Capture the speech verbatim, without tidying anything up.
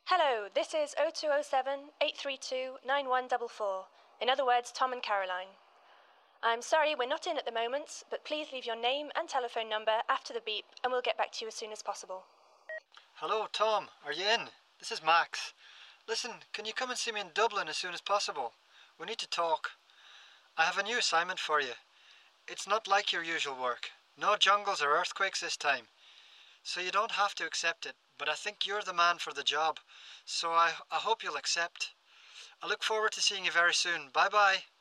Hello, this is oh two oh seven, eight three two, nine one four four. In other words, Tom and Caroline. I'm sorry we're not in at the moment, but please leave your name and telephone number after the beep and we'll get back to you as soon as possible. Hello, Tom. Are you in? This is Max. Listen, can you come and see me in Dublin as soon as possible? We need to talk. I have a new assignment for you. It's not like your usual work. No jungles or earthquakes this time. So you don't have to accept it, but I think you're the man for the job. So I, I hope you'll accept. I look forward to seeing you very soon. Bye-bye.